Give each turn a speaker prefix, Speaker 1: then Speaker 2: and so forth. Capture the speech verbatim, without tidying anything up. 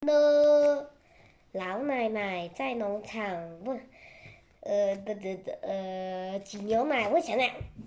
Speaker 1: 呢，老奶奶在农场问，呃的的的呃挤牛奶，我想想，